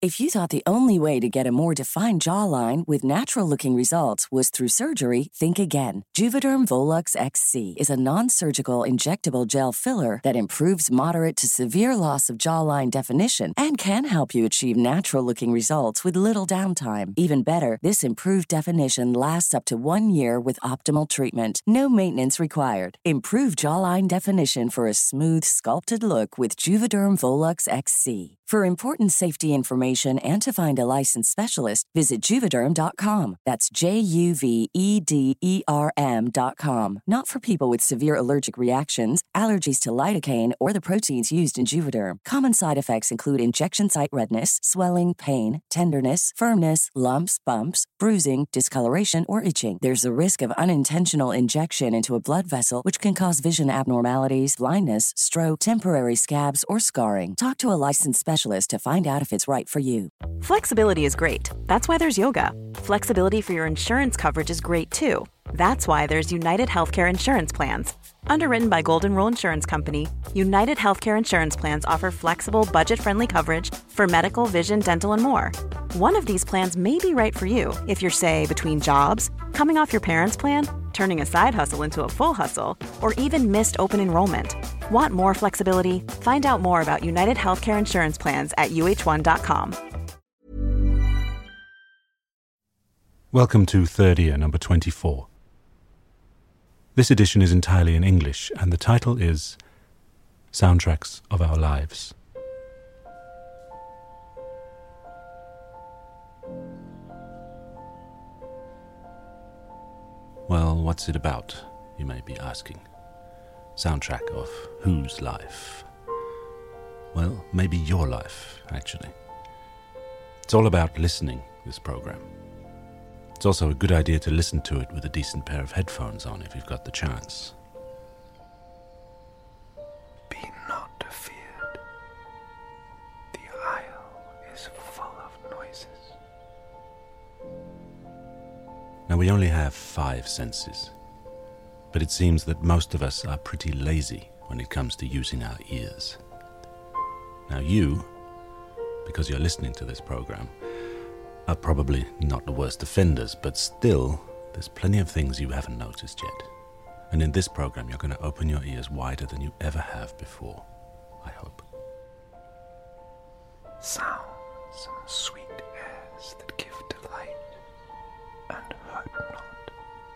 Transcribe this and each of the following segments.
If you thought the only way to get a more defined jawline with natural-looking results was through surgery, think again. Juvederm Volux XC is a non-surgical injectable gel filler that improves moderate to severe loss of jawline definition and can help you achieve natural-looking results with little downtime. Even better, this improved definition lasts up to 1 year with optimal treatment. No maintenance required. Improve jawline definition for a smooth, sculpted look with Juvederm Volux XC. For important safety information and to find a licensed specialist, visit Juvederm.com. That's JUVEDERM.com. Not for people with severe allergic reactions, allergies to lidocaine, or the proteins used in Juvederm. Common side effects include injection site redness, swelling, pain, tenderness, firmness, lumps, bumps, bruising, discoloration, or itching. There's a risk of unintentional injection into a blood vessel, which can cause vision abnormalities, blindness, stroke, temporary scabs, or scarring. Talk to a licensed specialist to find out if it's right for you. Flexibility is great. That's why there's yoga. Flexibility for your insurance coverage is great too. That's why there's United Healthcare Insurance Plans. Underwritten by Golden Rule Insurance Company, United Healthcare Insurance Plans offer flexible, budget-friendly coverage for medical, vision, dental, and more. One of these plans may be right for you if you're, say, between jobs, coming off your parents' plan, turning a side hustle into a full hustle, or even missed open enrollment. Want more flexibility? Find out more about United Healthcare Insurance Plans at uh1.com. Welcome to Third Ear number 24. This edition is entirely in English, and the title is Soundtracks of Our Lives. Well, what's it about, you may be asking? Soundtrack of whose life? Well, maybe your life, actually. It's all about listening, this program. It's also a good idea to listen to it with a decent pair of headphones on if you've got the chance. Be not afeared. The isle is full of noises. Now, we only have 5 senses, but it seems that most of us are pretty lazy when it comes to using our ears. Now, you, because you're listening to this program, are probably not the worst offenders, but still, there's plenty of things you haven't noticed yet. And in this program, you're going to open your ears wider than you ever have before, I hope. Sounds and sweet airs that give delight and hurt not.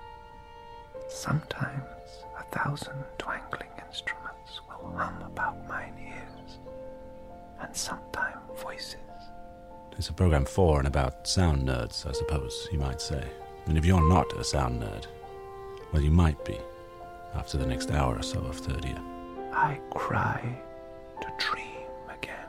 Sometimes 1,000 twangling instruments will hum about mine ears, and sometimes voices. It's a program for and about sound nerds, I suppose, you might say. And if you're not a sound nerd, well, you might be, after the next hour or so of Third Ear. I cry to dream again.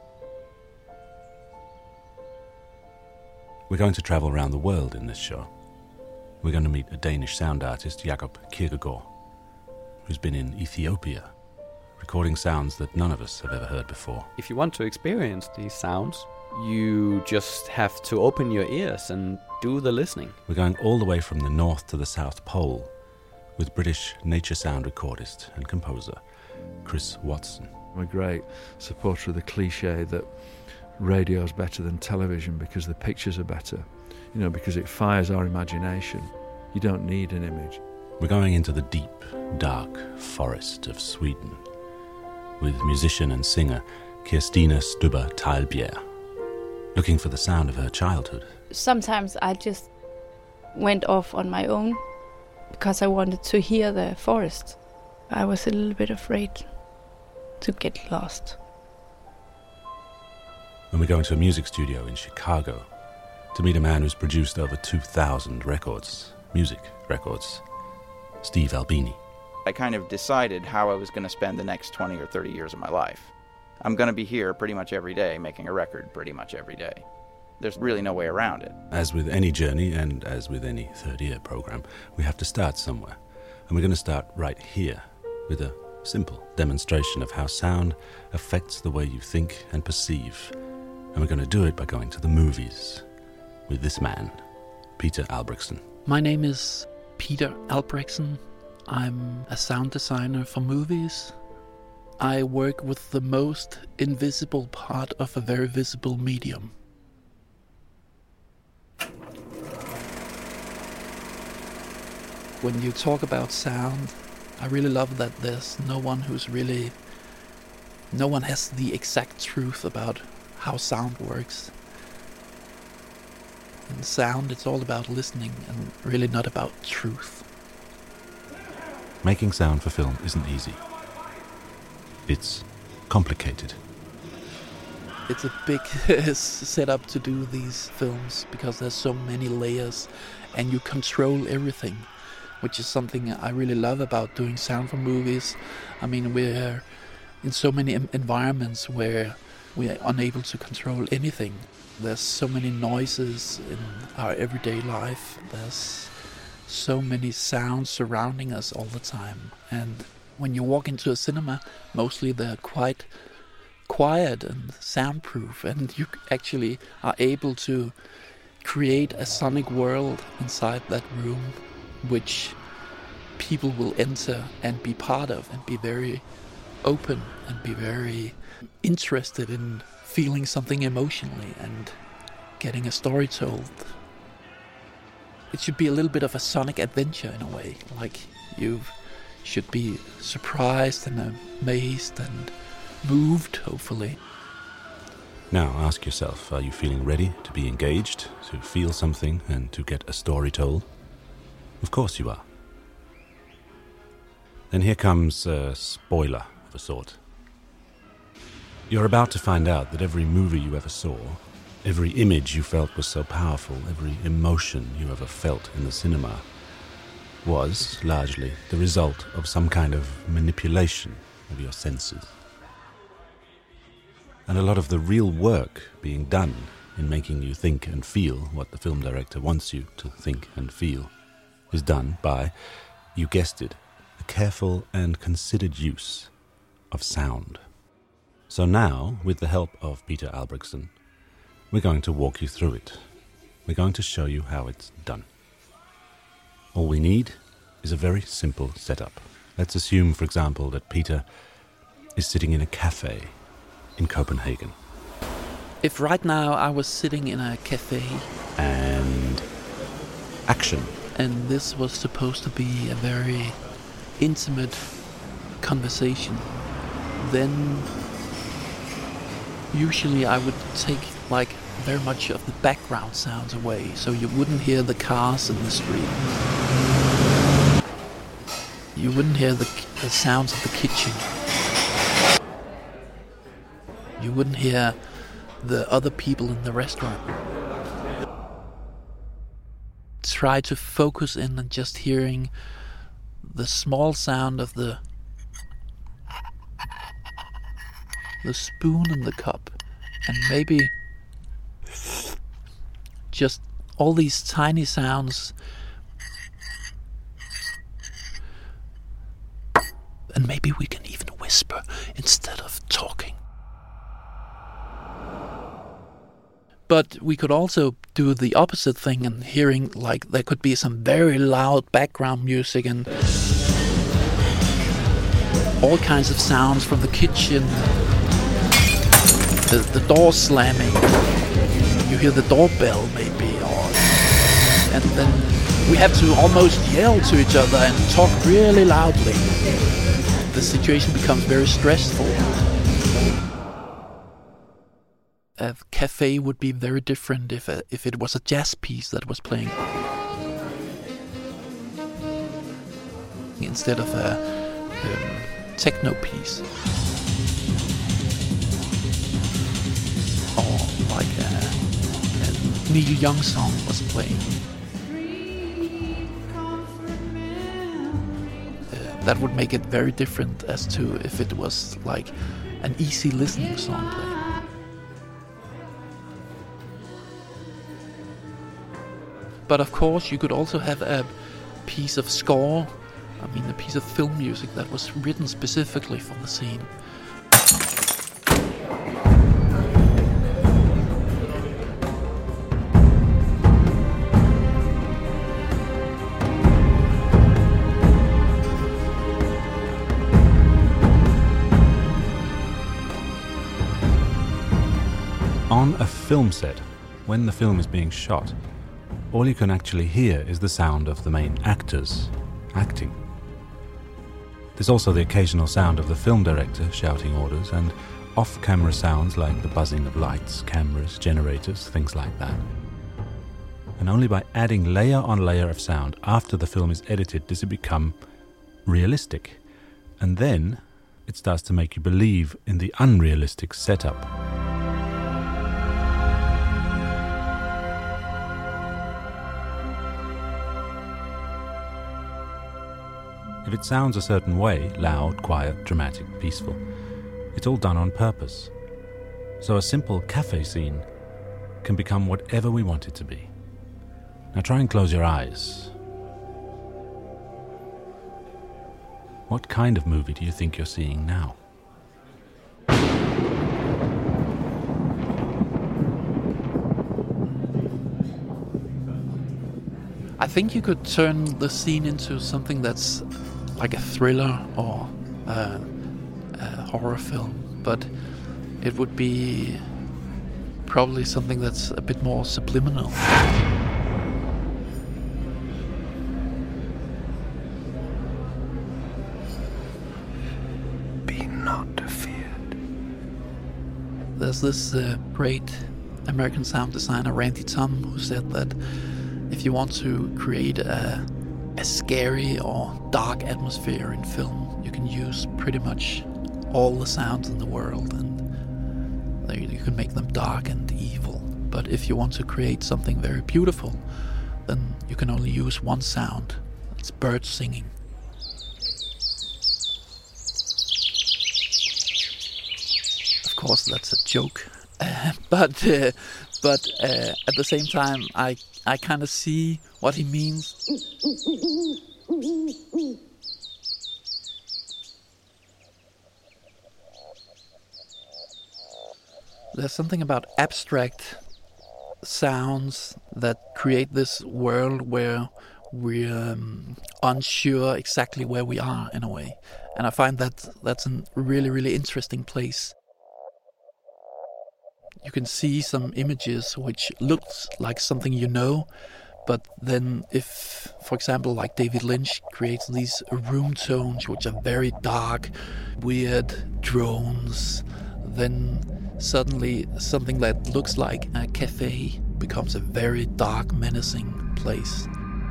We're going to travel around the world in this show. We're going to meet a Danish sound artist, Jakob Kirkegaard, who's been in Ethiopia, recording sounds that none of us have ever heard before. If you want to experience these sounds, you just have to open your ears and do the listening. We're going all the way from the North to the South Pole with British nature sound recordist and composer Chris Watson. I'm a great supporter of the cliche that radio is better than television because the pictures are better, because it fires our imagination. You don't need an image. We're going into the deep, dark forest of Sweden with musician and singer Kirstina Stubbe Teilbjerg, looking for the sound of her childhood. Sometimes I just went off on my own because I wanted to hear the forest. I was a little bit afraid to get lost. And we go into a music studio in Chicago to meet a man who's produced over 2,000 records, music records, Steve Albini. I kind of decided how I was going to spend the next 20 or 30 years of my life. I'm going to be here pretty much every day, making a record pretty much every day. There's really no way around it. As with any journey, and as with any Third Ear program, we have to start somewhere. And we're going to start right here with a simple demonstration of how sound affects the way you think and perceive. And we're going to do it by going to the movies with this man, Peter Albrechtsen. My name is Peter Albrechtsen. I'm a sound designer for movies. I work with the most invisible part of a very visible medium. when you talk about sound, I really love that there's no one has the exact truth about how sound works. In sound, it's all about listening and really not about truth. Making sound for film isn't easy. It's complicated. It's a big setup to do these films because there's so many layers and you control everything, which is something I really love about doing sound for movies. I mean, we're in so many environments where we are unable to control anything. There's so many noises in our everyday life. There's so many sounds surrounding us all the time. And when you walk into a cinema, mostly they're quite quiet and soundproof, and you actually are able to create a sonic world inside that room, which people will enter and be part of and be very open and be very interested in feeling something emotionally and getting a story told. It should be a little bit of a sonic adventure in a way, like you should be surprised and amazed and moved, hopefully. Now ask yourself, are you feeling ready to be engaged, to feel something and to get a story told? Of course you are. Then here comes a spoiler of a sort. You're about to find out that every movie you ever saw, every image you felt was so powerful, every emotion you ever felt in the cinema was, largely, the result of some kind of manipulation of your senses. And a lot of the real work being done in making you think and feel what the film director wants you to think and feel is done by, you guessed it, a careful and considered use of sound. So now, with the help of Peter Albrechtsen, we're going to walk you through it. We're going to show you how it's done. All we need is a very simple setup. Let's assume, for example, that Peter is sitting in a cafe in Copenhagen. If right now I was sitting in a cafe and action, and this was supposed to be a very intimate conversation, then usually I would take like very much of the background sounds away, so you wouldn't hear the cars in the street. You wouldn't hear the sounds of the kitchen. You wouldn't hear the other people in the restaurant. Try to focus in on just hearing the small sound of the spoon in the cup, and maybe just all these tiny sounds, and maybe we can even whisper instead of talking. But we could also do the opposite thing and hearing, like, there could be some very loud background music and all kinds of sounds from the kitchen. The door slamming. You hear the doorbell maybe, and then we have to almost yell to each other and talk really loudly. The situation becomes very stressful. A cafe would be very different if it was a jazz piece that was playing instead of a techno piece, or like a Neil Young song was playing. That would make it very different as to if it was like an easy listening song playing. But of course, you could also have a piece of score, a piece of film music that was written specifically for the scene. On a film set, when the film is being shot, all you can actually hear is the sound of the main actors acting. There's also the occasional sound of the film director shouting orders and off-camera sounds like the buzzing of lights, cameras, generators, things like that. And only by adding layer on layer of sound after the film is edited does it become realistic. And then it starts to make you believe in the unrealistic setup. If it sounds a certain way, loud, quiet, dramatic, peaceful, it's all done on purpose. So a simple cafe scene can become whatever we want it to be. Now try and close your eyes. What kind of movie do you think you're seeing now? I think you could turn the scene into something that's like a thriller or a horror film, but it would be probably something that's a bit more subliminal. Be not feared. There's this great American sound designer, Randy Thom, who said that if you want to create a scary or dark atmosphere in film, you can use pretty much all the sounds in the world and you can make them dark and evil. But if you want to create something very beautiful, then you can only use one sound. It's birds singing. Of course, that's a joke. But at the same time, I kind of see what he means. There's something about abstract sounds that create this world where we're unsure exactly where we are in a way. And I find that that's a really, really interesting place. You can see some images which looks like something you know, but then if, for example, like David Lynch creates these room tones which are very dark, weird drones, then suddenly something that looks like a cafe becomes a very dark, menacing place.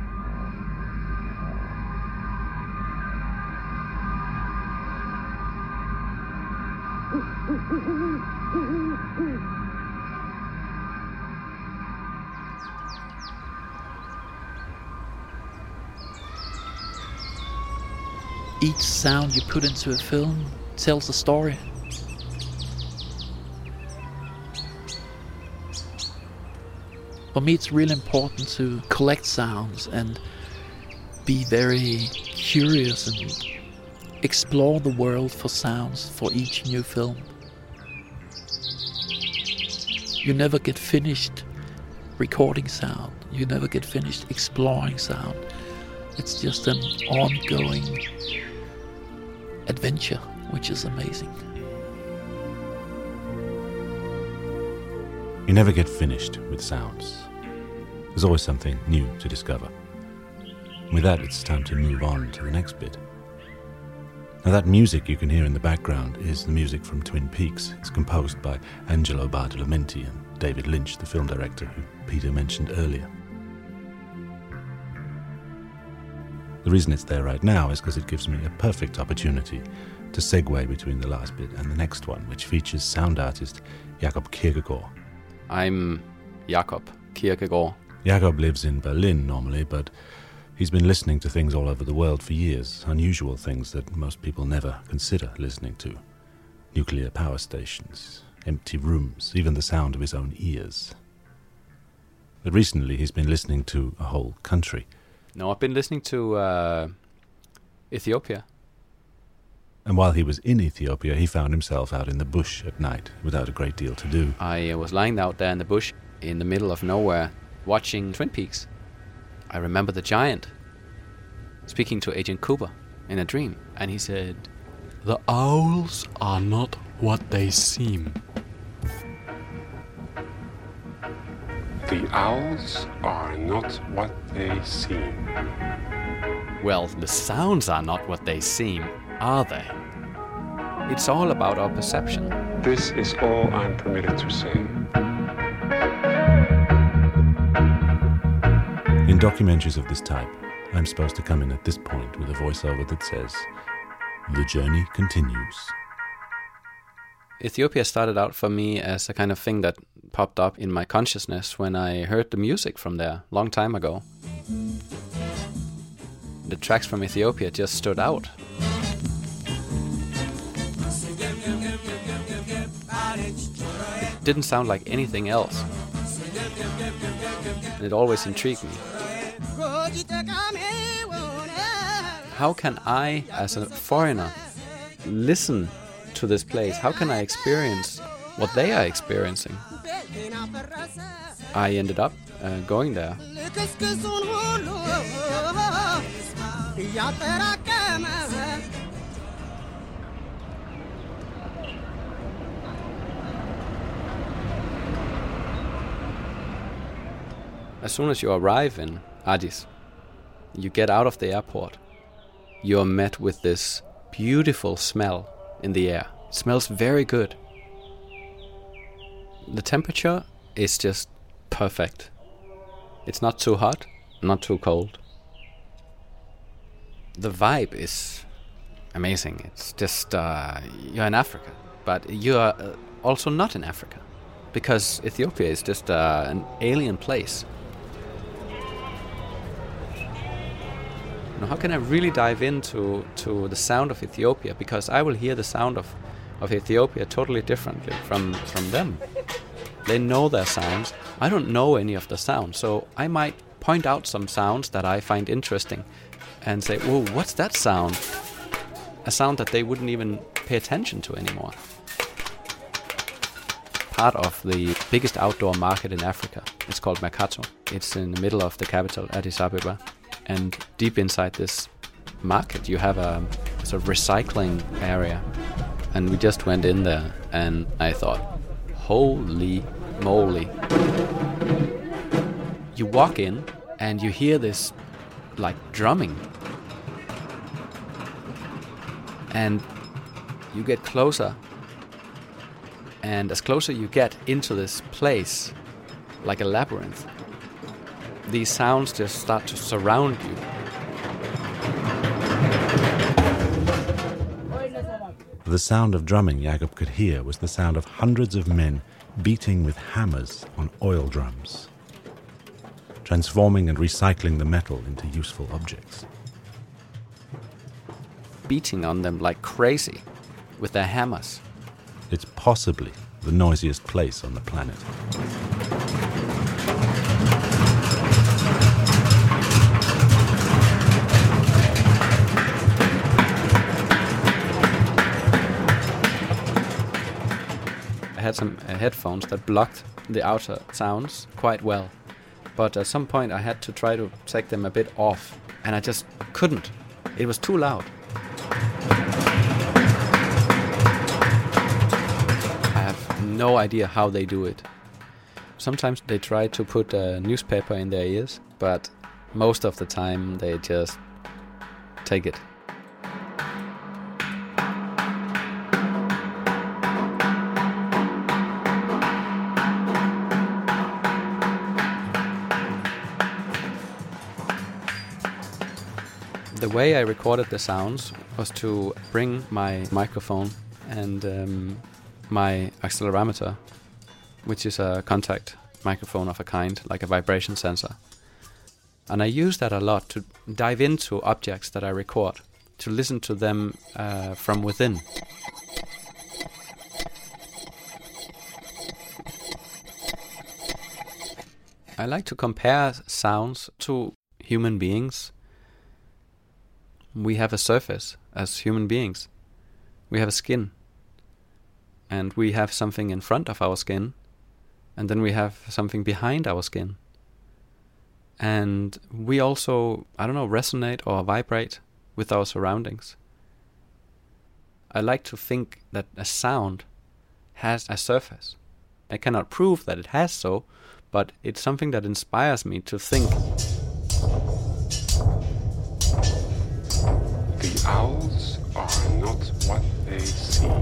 Each sound you put into a film tells a story. For me, it's really important to collect sounds and be very curious and explore the world for sounds for each new film. You never get finished recording sound. You never get finished exploring sound. It's just an ongoing adventure, which is amazing. You never get finished with sounds. There's always something new to discover. With that, it's time to move on to the next bit. Now, that music you can hear in the background is the music from Twin Peaks. It's composed by Angelo Badalamenti and David Lynch, the film director who Peter mentioned earlier. The reason it's there right now is because it gives me a perfect opportunity to segue between the last bit and the next one, which features sound artist Jakob Kierkegaard. I'm Jakob Kierkegaard. Jakob lives in Berlin normally, but he's been listening to things all over the world for years, unusual things that most people never consider listening to. Nuclear power stations, empty rooms, even the sound of his own ears. But recently he's been listening to a whole country. No, I've been listening to Ethiopia. And while he was in Ethiopia, he found himself out in the bush at night without a great deal to do. I was lying out there in the bush in the middle of nowhere watching Twin Peaks. I remember the giant speaking to Agent Cooper in a dream, and he said, "The owls are not what they seem." The owls are not what they seem. well, the sounds are not what they seem, are they? It's all about our perception. This is all I'm permitted to say. In documentaries of this type, I'm supposed to come in at this point with a voiceover that says, "The journey continues." Ethiopia started out for me as a kind of thing that popped up in my consciousness when I heard the music from there a long time ago. The tracks from Ethiopia just stood out. It didn't sound like anything else. And it always intrigued me. How can I, as a foreigner, listen to this place? How can I experience what they are experiencing? I ended up going there. As soon as you arrive in Addis, you get out of the airport, you are met with this beautiful smell in the air. It smells very good. The temperature is just perfect. It's not too hot, not too cold. The vibe is amazing. It's just, you're in Africa, but you're also not in Africa, because Ethiopia is just an alien place. Now, how can I really dive into the sound of Ethiopia? Because I will hear the sound of Ethiopia totally differently from them. They know their sounds. I don't know any of the sounds, so I might point out some sounds that I find interesting and say, "Whoa, what's that sound?" A sound that they wouldn't even pay attention to anymore. Part of the biggest outdoor market in Africa. It's called Mercato. It's in the middle of the capital, Addis Ababa. And deep inside this market, you have a sort of recycling area. And we just went in there, and I thought, holy moly. You walk in, and you hear this, like, drumming. And you get closer. And as closer you get into this place, like a labyrinth, these sounds just start to surround you. The sound of drumming Jakob could hear was the sound of hundreds of men beating with hammers on oil drums, transforming and recycling the metal into useful objects. Beating on them like crazy with their hammers. It's possibly the noisiest place on the planet. I had some headphones that blocked the outer sounds quite well, but at some point I had to try to take them a bit off, and I just couldn't. It was too loud. I have no idea how they do it. Sometimes they try to put a newspaper in their ears, but most of the time they just take it. The way I recorded the sounds was to bring my microphone and my accelerometer, which is a contact microphone of a kind, like a vibration sensor. And I use that a lot to dive into objects that I record, to listen to them from within. I like to compare sounds to human beings. We have a surface as human beings. We have a skin. And we have something in front of our skin. And then we have something behind our skin. And we also, resonate or vibrate with our surroundings. I like to think that a sound has a surface. I cannot prove that it has so, but it's something that inspires me to think. Owls are not what they seem.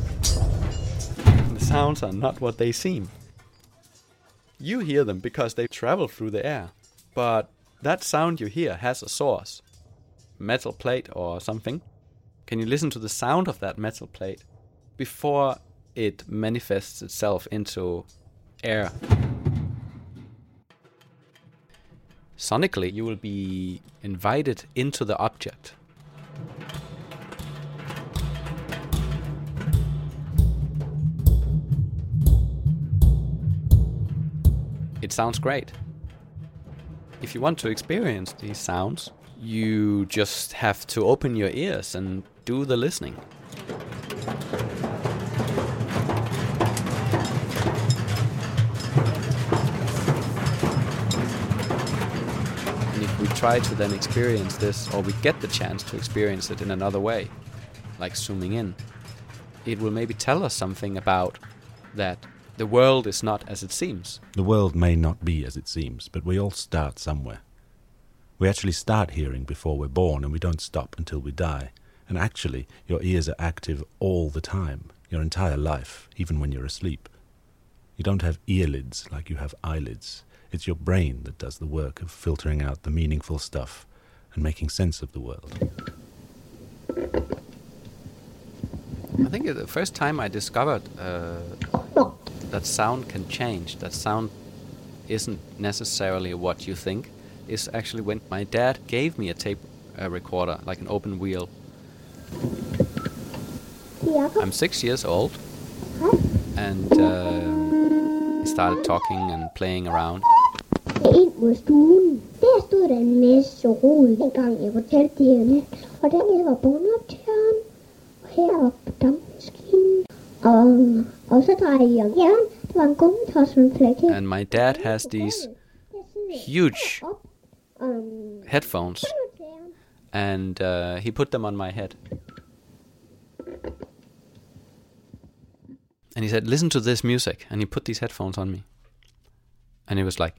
The sounds are not what they seem. You hear them because they travel through the air. But that sound you hear has a source. Metal plate or something. Can you listen to the sound of that metal plate before it manifests itself into air? Sonically, you will be invited into the object. It sounds great. If you want to experience these sounds, you just have to open your ears and do the listening. And if we try to then experience this, or we get the chance to experience it in another way, like zooming in, it will maybe tell us something about that the world is not as it seems. The world may not be as it seems, but we all start somewhere. We actually start hearing before we're born, and we don't stop until we die. And actually, your ears are active all the time, your entire life, even when you're asleep. You don't have earlids like you have eyelids. It's your brain that does the work of filtering out the meaningful stuff and making sense of the world. I think the first time I discovered that sound can change, that sound isn't necessarily what you think, is actually when my dad gave me a tape recorder, like an open wheel. I'm 6 years old, and he started talking and playing around. Ind mod stuen. Der stod der en masse rod, dengang jeg fortalte det her nyt. Og den var båndoptageren. Og heroppe på dampmaskinen. Og så drejede jeg om hjørnet. Det var en gummitossenflæk her. And my dad has these huge headphones, and he put them on my head. And he said, listen to this music. And he put these headphones on me. And it was like...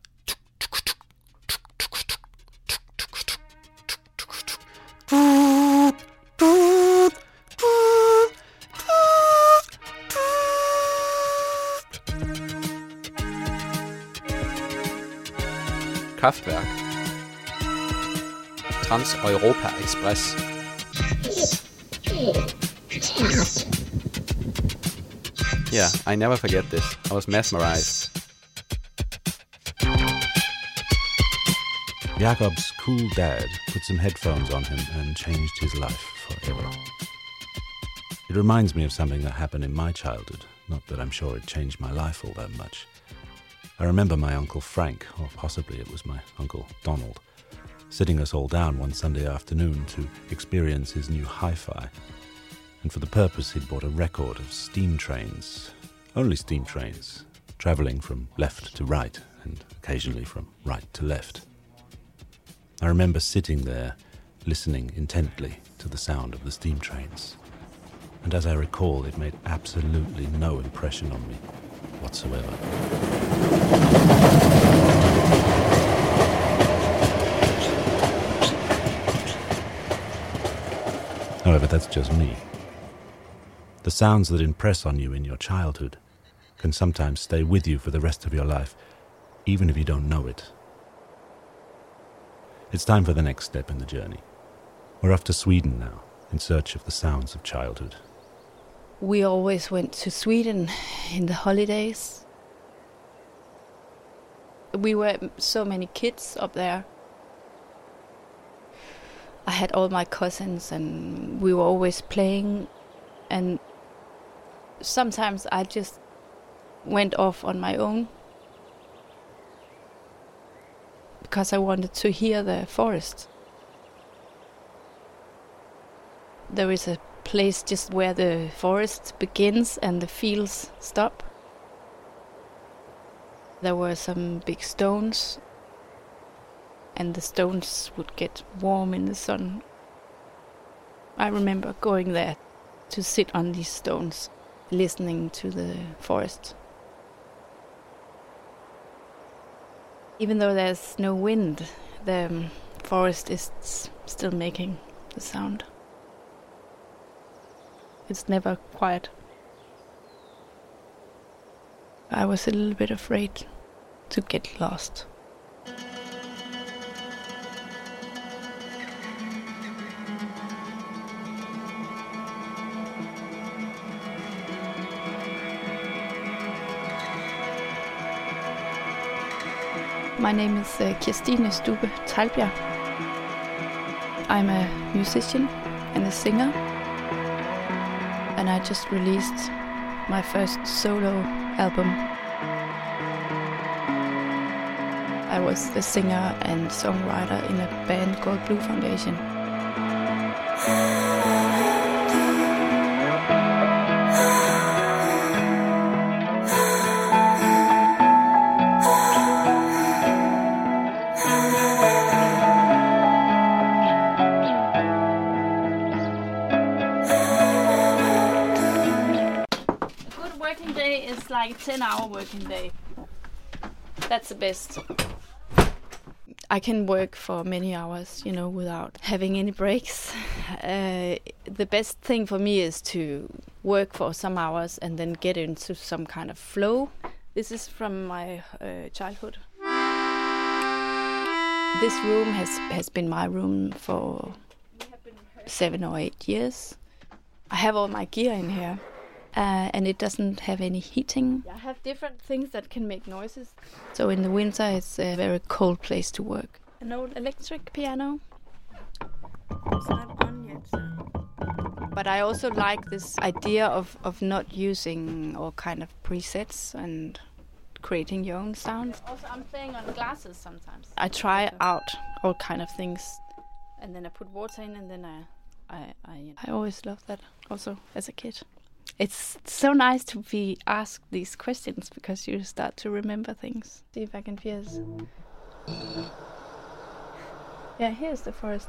Kraftwerk. Trans-Europa Express. Yeah, I never forget this. I was mesmerized. Jakob's cool dad put some headphones on him and changed his life forever. It reminds me of something that happened in my childhood, not that I'm sure it changed my life all that much. I remember my Uncle Frank, or possibly it was my Uncle Donald, sitting us all down one Sunday afternoon to experience his new hi-fi. And for the purpose he'd bought a record of steam trains, only steam trains, travelling from left to right and occasionally from right to left. I remember sitting there, listening intently to the sound of the steam trains. And as I recall, it made absolutely no impression on me whatsoever. However, that's just me. The sounds that impress on you in your childhood can sometimes stay with you for the rest of your life, even if you don't know it. It's time for the next step in the journey. We're off to Sweden now, in search of the sounds of childhood. We always went to Sweden in the holidays. We were so many kids up there. I had all my cousins and we were always playing, and sometimes I just went off on my own because I wanted to hear the forest. There is a place just where the forest begins and the fields stop. There were some big stones, and the stones would get warm in the sun. I remember going there to sit on these stones, listening to the forest. Even though there's no wind, the forest is still making the sound. It's never quiet. I was a little bit afraid to get lost. My name is Kirstine Stube Teglbjerg. I'm a musician and a singer, and I just released my first solo album. I was the singer and songwriter in a band called Blue Foundation. It's like a 10-hour working day. That's the best. I can work for many hours, without having any breaks. The best thing for me is to work for some hours and then get into some kind of flow. This is from my childhood. This room has been my room for 7 or 8 years. I have all my gear in here. And it doesn't have any heating. I have different things that can make noises. So in the winter, it's a very cold place to work. An old electric piano. It's not on yet. But I also like this idea of not using all kind of presets and creating your own sounds. Also, I'm playing on glasses sometimes. I try out all kind of things, and then I put water in, and then I always loved that. Also, as a kid. It's so nice to be asked these questions because you start to remember things. See if I can pierce. Yeah, here's the forest.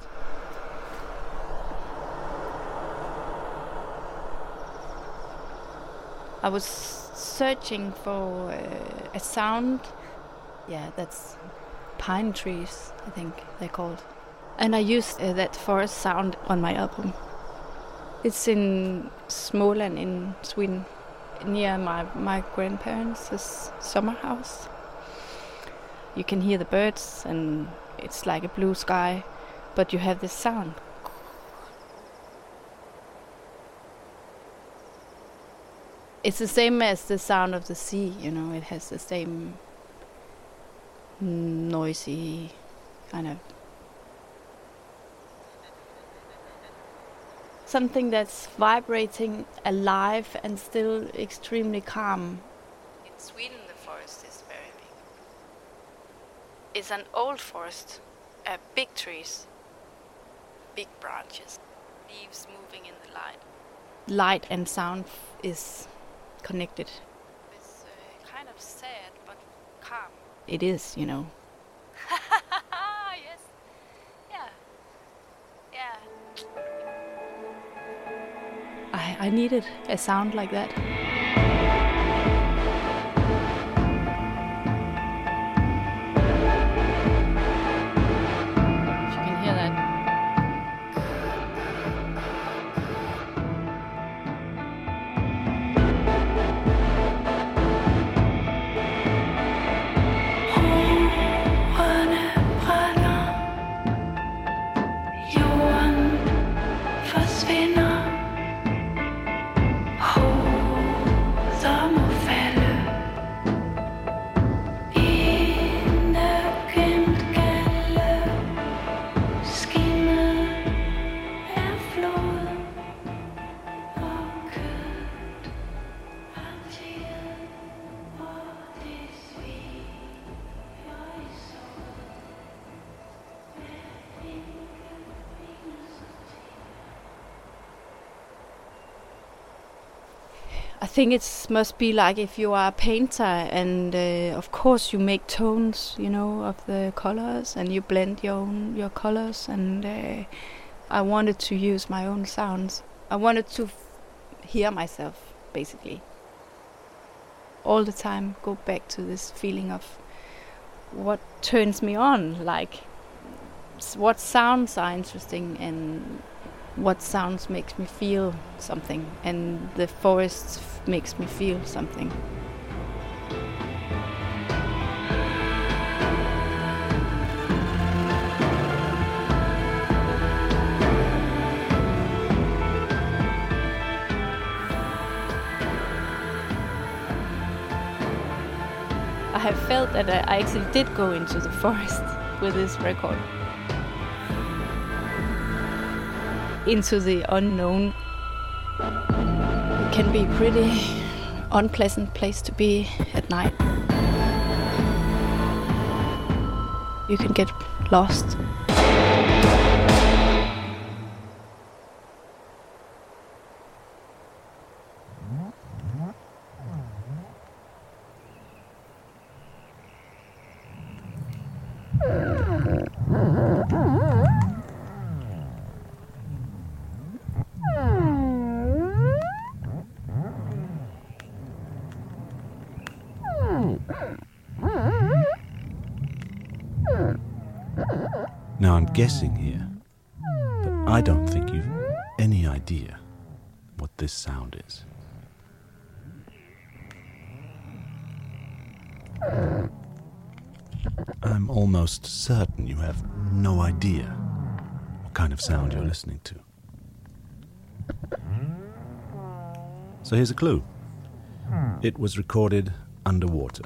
I was searching for a sound. Yeah, that's pine trees, I think they're called. And I used that forest sound on my album. It's in Småland in Sweden, near my grandparents' summer house. You can hear the birds and it's like a blue sky, but you have this sound. It's the same as the sound of the sea, it has the same noisy kind of something that's vibrating, alive, and still extremely calm. In Sweden, the forest is very big. It's an old forest, big trees, big branches, leaves moving in the light. Light and sound is connected. It's kind of sad, but calm. It is, Yes. Yeah. Yeah. I needed a sound like that. You can hear that. I think it must be like if you are a painter and of course you make tones, of the colors and you blend your colors, and I wanted to use my own sounds. I wanted to hear myself, basically. All the time go back to this feeling of what turns me on, like what sounds are interesting and what sounds makes me feel something, and the forest makes me feel something. I have felt that I actually did go into the forest with this record. Into the unknown. It can be a pretty unpleasant place to be at night. You can get lost. Now I'm guessing here, but I don't think you've any idea what this sound is. I'm almost certain you have no idea what kind of sound you're listening to. So here's a clue. It was recorded underwater,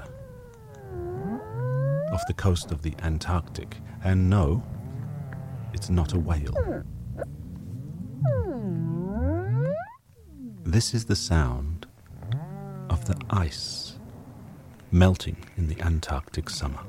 off the coast of the Antarctic. And no, it's not a whale. This is the sound of the ice melting in the Antarctic summer.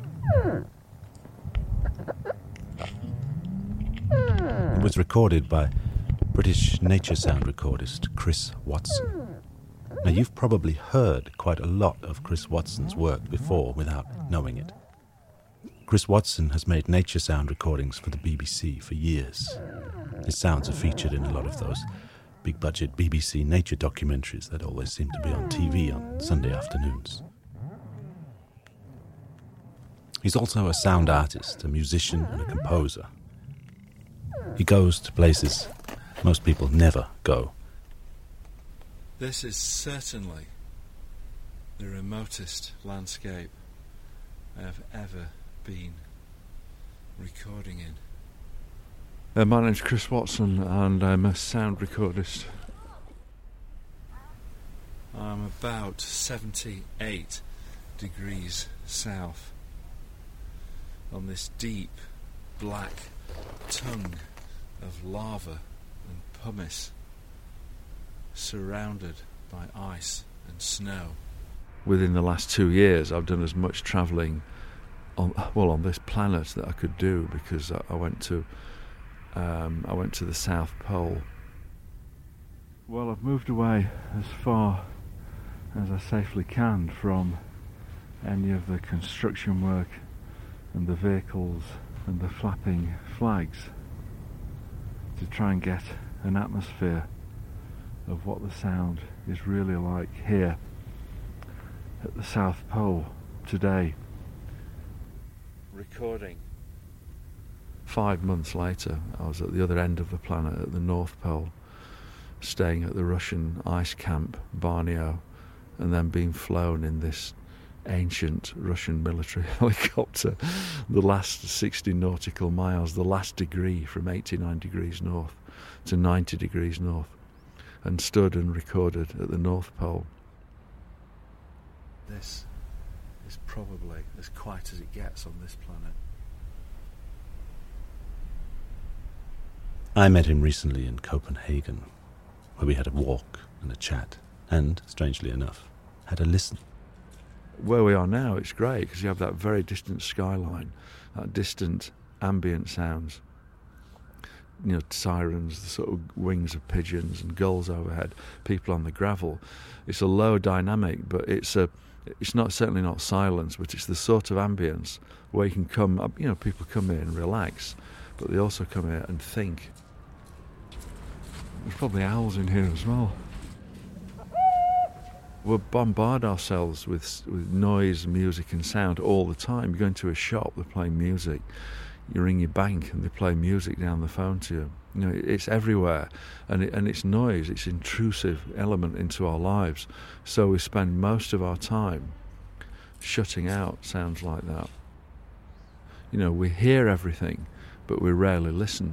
It was recorded by British nature sound recordist Chris Watson. Now, you've probably heard quite a lot of Chris Watson's work before without knowing it. Chris Watson has made nature sound recordings for the BBC for years. His sounds are featured in a lot of those big-budget BBC nature documentaries that always seem to be on TV on Sunday afternoons. He's also a sound artist, a musician and a composer. He goes to places most people never go. This is certainly the remotest landscape I have ever been recording in. My name's Chris Watson and I'm a sound recordist. I'm about 78 degrees south on this deep black tongue of lava and pumice, surrounded by ice and snow. Within the last 2 years I've done as much travelling on this planet that I could do, because I went to the South Pole. Well, I've moved away as far as I safely can from any of the construction work and the vehicles and the flapping flags, to try and get an atmosphere of what the sound is really like here at the South Pole today. Recording. 5 months later, I was at the other end of the planet, at the North Pole, staying at the Russian ice camp, Barneo, and then being flown in this ancient Russian military helicopter the last 60 nautical miles, the last degree, from 89 degrees north to 90 degrees north, and stood and recorded at the North Pole. This is probably as quiet as it gets on this planet. I met him recently in Copenhagen, where we had a walk and a chat, and, strangely enough, had a listen. Where we are now, it's great, because you have that very distant skyline, that distant ambient sounds. You know, sirens, the sort of wings of pigeons and gulls overhead, people on the gravel. It's a low dynamic, but it's not, certainly not silence, but it's the sort of ambience where you can come up, people come here and relax, but they also come here and think. There's probably owls in here as well. We bombard ourselves with noise, music and sound all the time. You go into a shop, they're playing music. You ring your bank and they play music down the phone to you. You know, it's everywhere, and it's noise. It's an intrusive element into our lives. So we spend most of our time shutting out sounds like that. You know, we hear everything, but we rarely listen.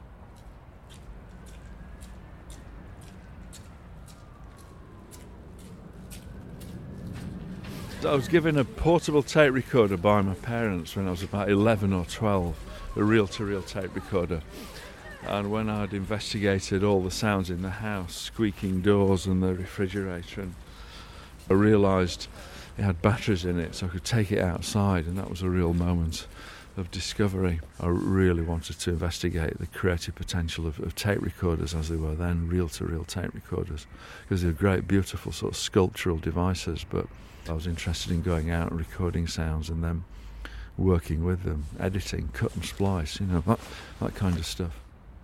I was given a portable tape recorder by my parents when I was about 11 or 12, a reel-to-reel tape recorder. And when I'd investigated all the sounds in the house, squeaking doors and the refrigerator, and I realised it had batteries in it, so I could take it outside, and that was a real moment of discovery. I really wanted to investigate the creative potential of tape recorders as they were then, reel-to-reel tape recorders, because they're great, beautiful sort of sculptural devices, but I was interested in going out and recording sounds and then working with them, editing, cut and splice, you know, that kind of stuff.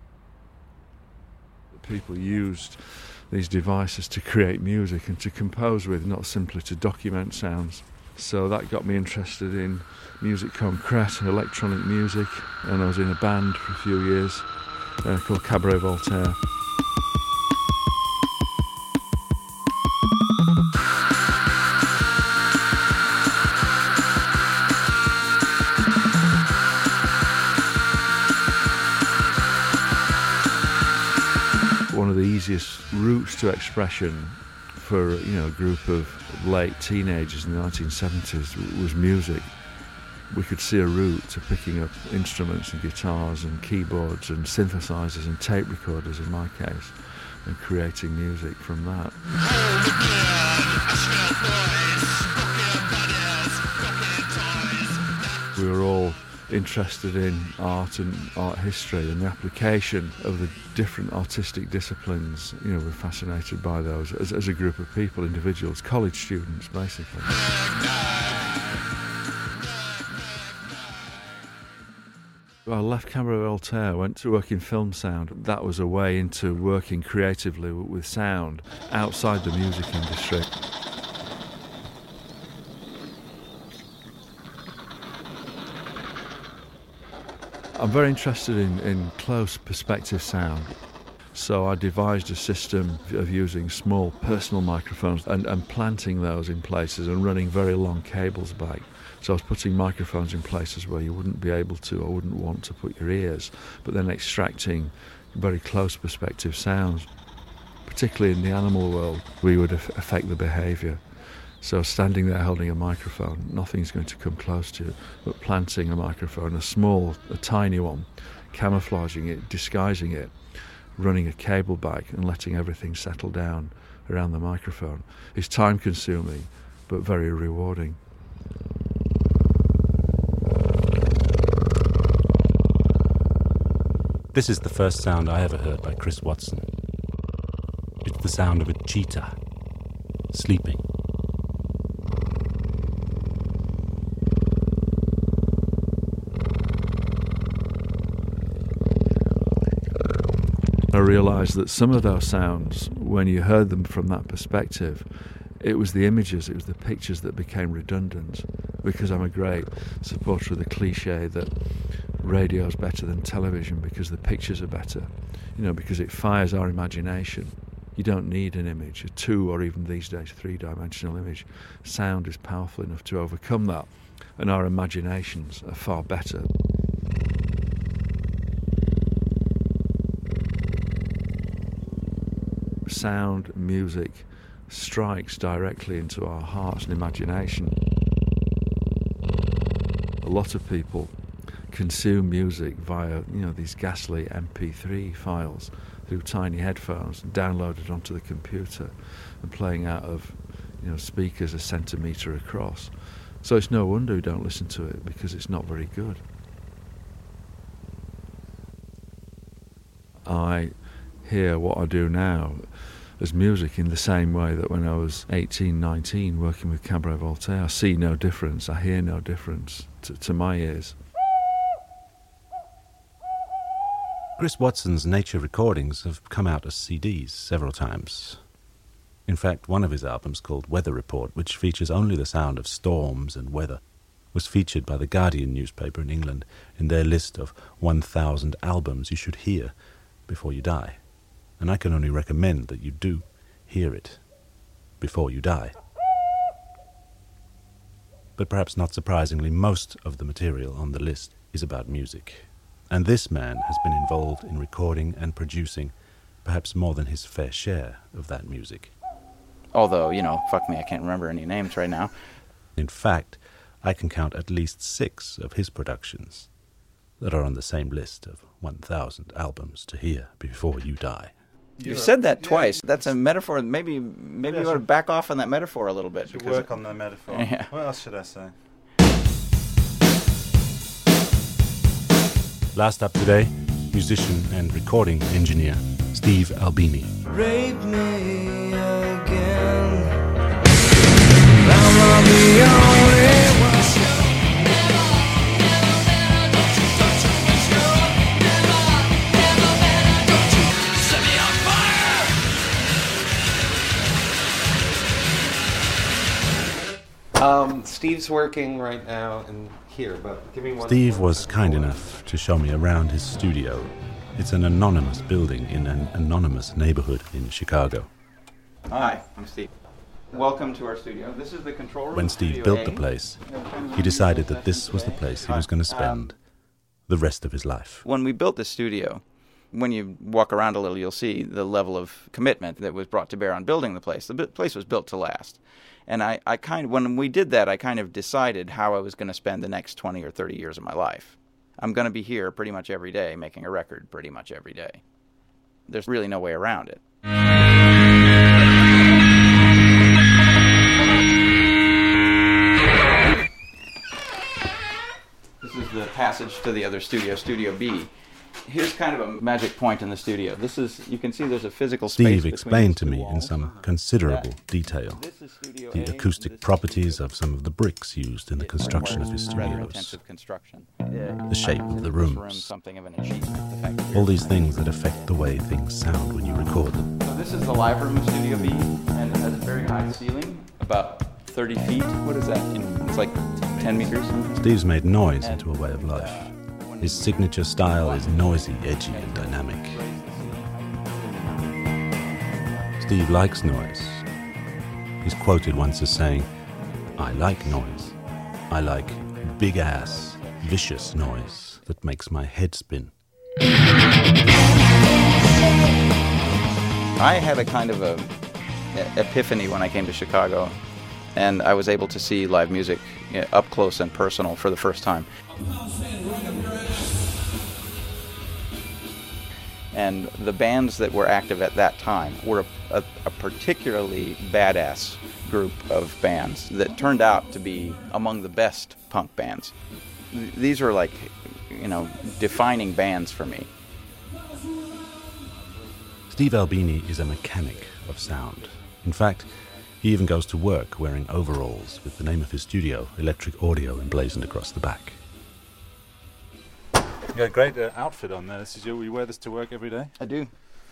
People used these devices to create music and to compose with, not simply to document sounds. So that got me interested in musique concrète, electronic music, and I was in a band for a few years called Cabaret Voltaire. One of the easiest routes to expression for a group of late teenagers in the 1970s was music. We could see a route to picking up instruments and guitars and keyboards and synthesizers and tape recorders in my case, and creating music from that. We were all interested in art and art history and the application of the different artistic disciplines. You know, we're fascinated by those as a group of people, individuals, college students, basically. I left Cabaret Voltaire, went to work in film sound. That was a way into working creatively with sound outside the music industry. I'm very interested in close perspective sound, so I devised a system of using small personal microphones and planting those in places and running very long cables back. So I was putting microphones in places where you wouldn't be able to or wouldn't want to put your ears, but then extracting very close perspective sounds. Particularly in the animal world, we would affect the behaviour. So standing there holding a microphone, nothing's going to come close to you, but planting a microphone, a tiny one, camouflaging it, disguising it, running a cable back and letting everything settle down around the microphone is time-consuming, but very rewarding. This is the first sound I ever heard by Chris Watson. It's the sound of a cheetah, sleeping. I realised that some of those sounds, when you heard them from that perspective, it was the images, it was the pictures that became redundant, because I'm a great supporter of the cliche that radio's better than television because the pictures are better, because it fires our imagination. You don't need an image, a 2 or even these days 3-dimensional image. Sound is powerful enough to overcome that, and our imaginations are far better. Sound, music strikes directly into our hearts and imagination. A lot of people consume music via, these ghastly MP3 files through tiny headphones and downloaded onto the computer and playing out of, speakers a centimetre across. So it's no wonder we don't listen to it, because it's not very good. I hear what I do now as music in the same way that when I was 18, 19 working with Cabaret Voltaire, I see no difference, I hear no difference to my ears. Chris Watson's nature recordings have come out as CDs several times. In fact, one of his albums called Weather Report, which features only the sound of storms and weather, was featured by the Guardian newspaper in England in their list of 1,000 albums you should hear before you die. And I can only recommend that you do hear it before you die. But perhaps not surprisingly, most of the material on the list is about music. And this man has been involved in recording and producing perhaps more than his fair share of that music. Although, fuck me, I can't remember any names right now. In fact, I can count at least 6 of his productions that are on the same list of 1,000 albums to hear before you die. You've said that twice. That's a metaphor. Maybe you want to back off on that metaphor a little bit. Should work on the metaphor. Yeah. What else should I say? Last up today, musician and recording engineer Steve Albini. Rape me again. I'm the only one. Steve's working right now in here, but give me one. Steve was kind enough to show me around his studio. It's an anonymous building in an anonymous neighborhood in Chicago. Hi, I'm Steve. Welcome to our studio. This is the control room. When Steve built the place, he decided that this was the place he was going to spend the rest of his life. When we built the studio, when you walk around a little, you'll see the level of commitment that was brought to bear on building the place. The place was built to last. And when we did that, I kind of decided how I was going to spend the next 20 or 30 years of my life. I'm going to be here pretty much every day, making a record pretty much every day. There's really no way around it. This is the passage to the other studio, Studio B. Here's kind of a magic point in the studio. You can see there's a physical space. Steve explained to me in some considerable detail the acoustic properties of some of the bricks used in the construction of his studios, the shape of the rooms, all these things that affect the way things sound when you record them. So this is the live room of Studio B, and it has a very high ceiling, about 30 feet. What is that? It's like 10 meters. Steve's made noise into a way of life. His signature style is noisy, edgy, and dynamic. Steve likes noise. He's quoted once as saying, "I like noise. I like big-ass, vicious noise that makes my head spin." I had a kind of a epiphany when I came to Chicago, and I was able to see live music up close and personal for the first time. And the bands that were active at that time were a particularly badass group of bands that turned out to be among the best punk bands. These were like, defining bands for me. Steve Albini is a mechanic of sound. In fact, he even goes to work wearing overalls with the name of his studio, Electric Audio, emblazoned across the back. You got a great outfit on there. You wear this to work every day? I do.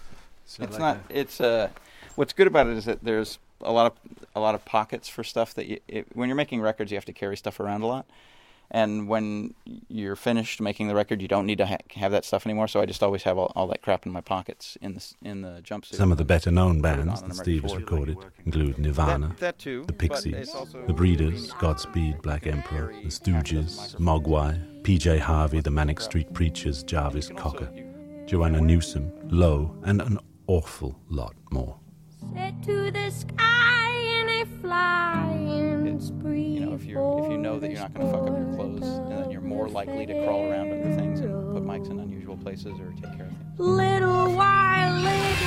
What's good about it is that there's a lot of pockets for stuff that when you're making records, you have to carry stuff around a lot. And when you're finished making the record, you don't need to have that stuff anymore. So I just always have all that crap in my pockets in the jumpsuit. Some of the better-known bands that Steve has recorded include Nirvana, that too, the Pixies, the Breeders, Godspeed, Black Emperor, the Stooges, Mogwai, PJ Harvey, the Manic Street Preachers, Jarvis Cocker, Joanna Newsom, Low, and an awful lot more. Set to the sky in a flying spree. If you know that you're not going to fuck up your clothes, and then you're more likely to crawl around under things and put mics in unusual places or take care of things. Little while later.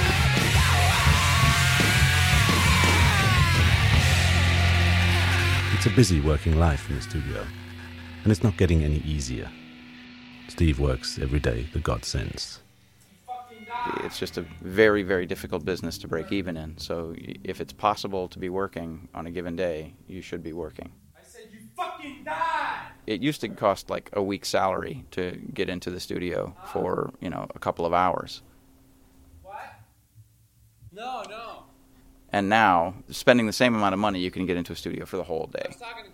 It's a busy working life in the studio, and it's not getting any easier. Steve works every day that God sends. It's just a very, very difficult business to break even in. So if it's possible to be working on a given day, you should be working. I said you fucking die! It used to cost like a week's salary to get into the studio for, a couple of hours. What? No. And now, spending the same amount of money, you can get into a studio for the whole day. I was talking to Kim.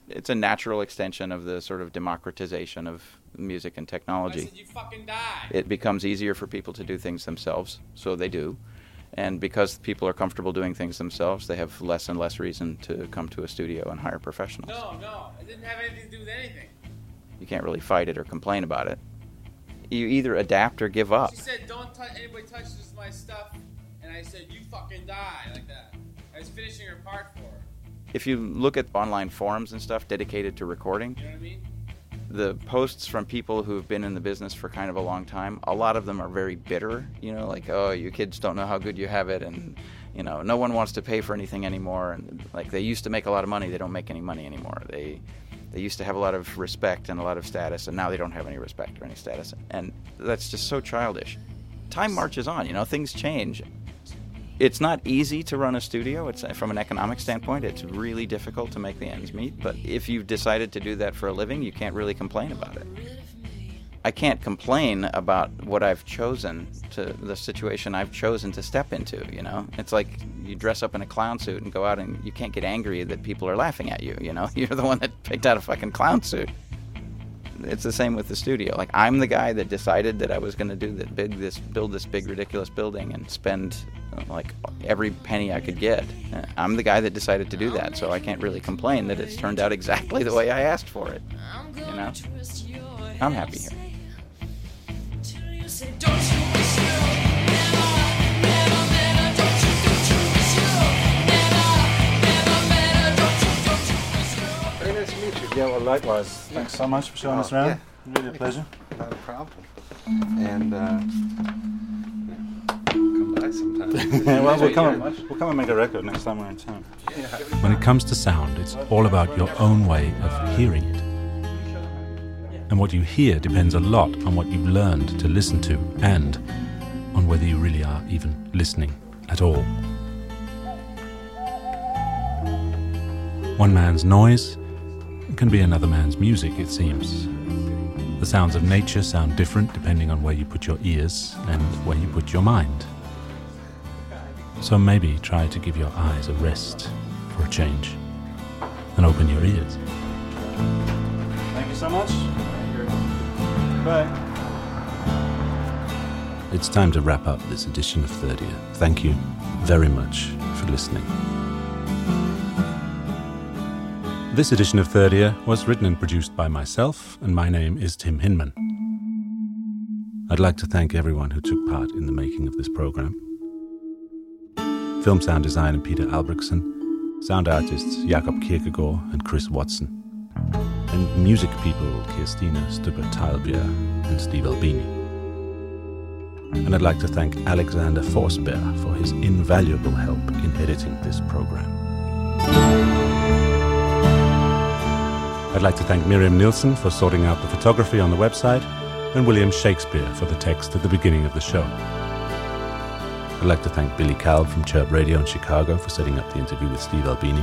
it's a natural extension of the sort of democratization of music and technology. I said, you fucking die. It becomes easier for people to do things themselves, so they do. And because people are comfortable doing things themselves, they have less and less reason to come to a studio and hire professionals. No, it didn't have anything to do with anything. You can't really fight it or complain about it. You either adapt or give up. She said, don't anybody touches my stuff. And I said, you fucking die, like that. I was finishing her part for her. If you look at online forums and stuff dedicated to recording, You know what I mean? the posts from people who've been in the business for kind of a long time, a lot of them are very bitter, like, oh, you kids don't know how good you have it, and, no one wants to pay for anything anymore, and, like, they used to make a lot of money, they don't make any money anymore. They used to have a lot of respect and a lot of status, and now they don't have any respect or any status, and that's just so childish. Time marches on, things change. It's not easy to run a studio. It's from an economic standpoint, it's really difficult to make the ends meet. But if you've decided to do that for a living, you can't really complain about it. I can't complain about what I've chosen, the situation I've chosen to step into, It's like you dress up in a clown suit and go out and you can't get angry that people are laughing at you, You're the one that picked out a fucking clown suit. It's the same with the studio. Like, I'm the guy that decided that I was going to do build this big ridiculous building and spend like every penny I could get. I'm the guy that decided to do that, so I can't really complain that it's turned out exactly the way I asked for it. I'm happy here. Very nice to meet you. Yeah, well, likewise. Thanks so much for showing us around. Yeah. Really a pleasure. Not a problem. And come by sometime. Yeah, well, we'll come and make a record next time we're in town. Yeah. When it comes to sound, it's all about your own way of hearing it. And what you hear depends a lot on what you've learned to listen to and on whether you really are even listening at all. One man's noise can be another man's music, it seems. The sounds of nature sound different depending on where you put your ears and where you put your mind. So maybe try to give your eyes a rest for a change and open your ears. Thank you so much. Bye. It's time to wrap up this edition of 30th. Thank you very much for listening. This edition of 30th was written and produced by myself, and my name is Tim Hinman. I'd like to thank everyone who took part in the making of this program. Film sound designer Peter Albrechtsen, sound artists Jakob Kierkegaard and Chris Watson, and music people Kirstina Stubber-Teilbier and Steve Albini. And I'd like to thank Alexander Forsberg for his invaluable help in editing this program. I'd like to thank Miriam Nielsen for sorting out the photography on the website, and William Shakespeare for the text at the beginning of the show. I'd like to thank Billy Kalb from Chirp Radio in Chicago for setting up the interview with Steve Albini.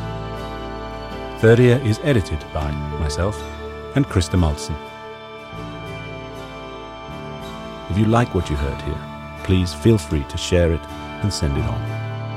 30th is edited by myself and Krista Maltsen. If you like what you heard here, please feel free to share it and send it on.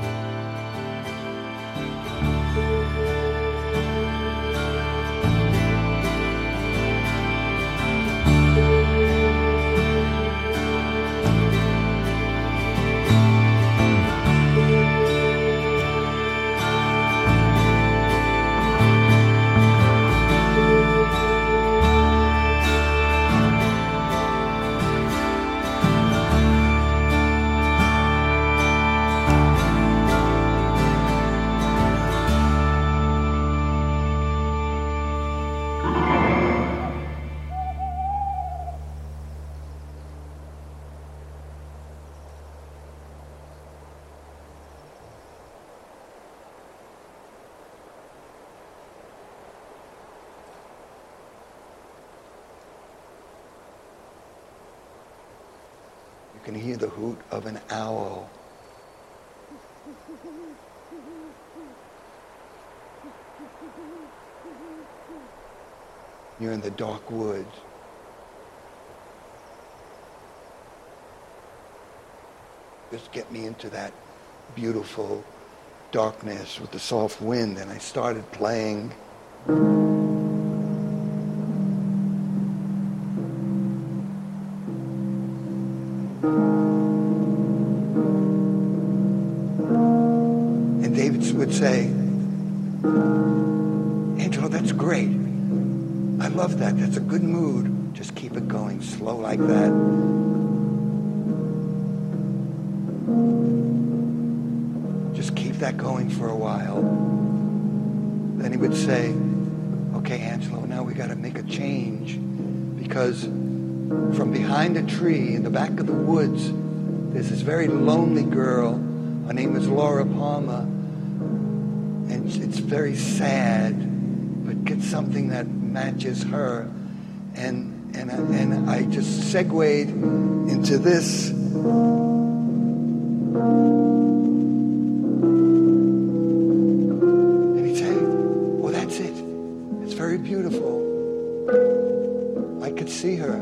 You can hear the hoot of an owl. You're in the dark woods. Just get me into that beautiful darkness with the soft wind, and I started playing And David would say, Angelo, that's great. I love that. That's a good mood. Just keep it going slow like that. Just keep that going for a while. Then he would say, okay, Angelo, now we got to make a change, because from behind a tree in the back of the woods, there's this very lonely girl. Her name is Laura Palmer. And it's very sad, but get something that matches her. And I just segued into this. And he'd say, well, that's it. It's very beautiful. I could see her.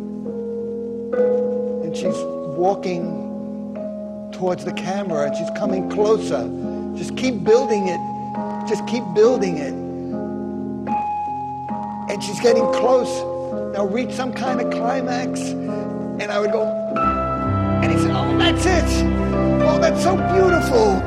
And she's walking towards the camera, and she's coming closer. Just keep building it. Just keep building it. And she's getting close. Now reach some kind of climax. And I would go, and he said, oh, that's it. Oh, that's so beautiful.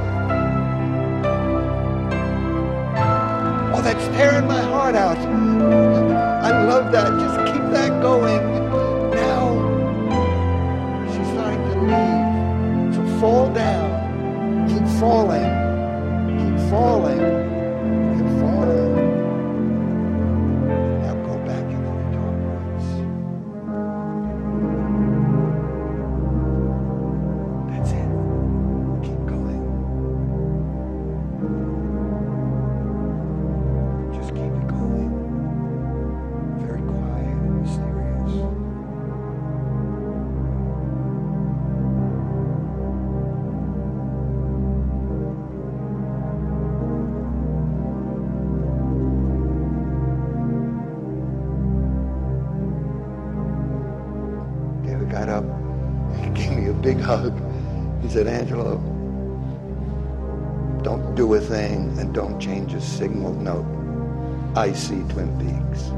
Oh, that's tearing my heart out. I love that. Just keep that going. Now, she's starting to leave. So fall down. Keep falling. Keep falling. Keep falling. Now go back into the dark woods. That's it. Keep going. Just keep it going. Very quiet and mysterious. David got up and gave me a big hug. He said, Angelo, don't do a thing and don't change a signal note. I see Twin Peaks.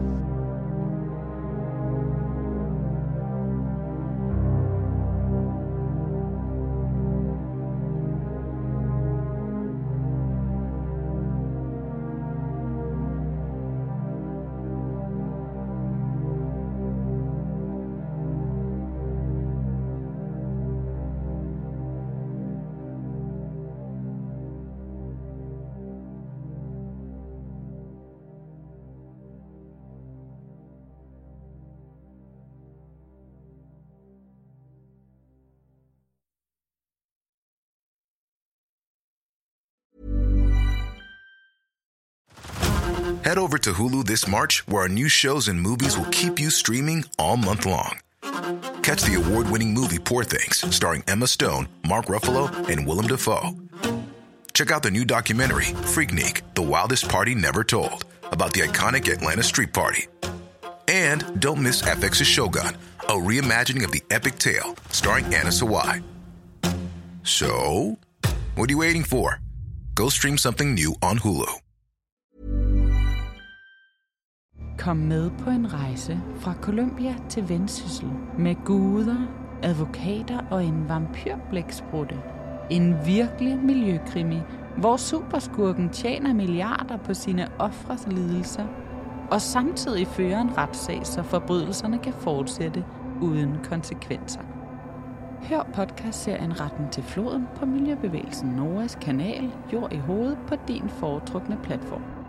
Head over to Hulu this March, where our new shows and movies will keep you streaming all month long. Catch the award-winning movie Poor Things, starring Emma Stone, Mark Ruffalo, and Willem Dafoe. Check out the new documentary, Freaknik, The Wildest Party Never Told, about the iconic Atlanta Street Party. And don't miss FX's Shogun, a reimagining of the epic tale, starring Anna Sawai. So, what are you waiting for? Go stream something new on Hulu. Kom med på en rejse fra Colombia til Vendsyssel med guder, advokater og en vampyrblæksprutte. En virkelig miljøkrimi, hvor superskurken tjener milliarder på sine ofres lidelser, og samtidig fører en retssag, så forbrydelserne kan fortsætte uden konsekvenser. Hør podcastserien Retten til floden på Miljøbevægelsen Noras kanal Jord i hovedet på din foretrukne platform.